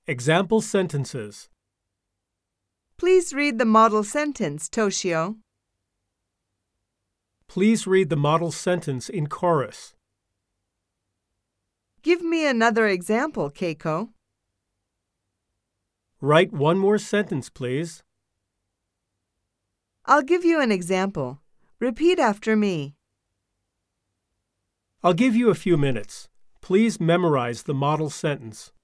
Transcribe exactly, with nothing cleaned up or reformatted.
Example sentences. Please read the model sentence, Toshio. Please read the model sentence in chorus. Give me another example, Keiko. Write one more sentence, please. I'll give you an example. Repeat after me. I'll give you a few minutes. Please memorize the model sentence.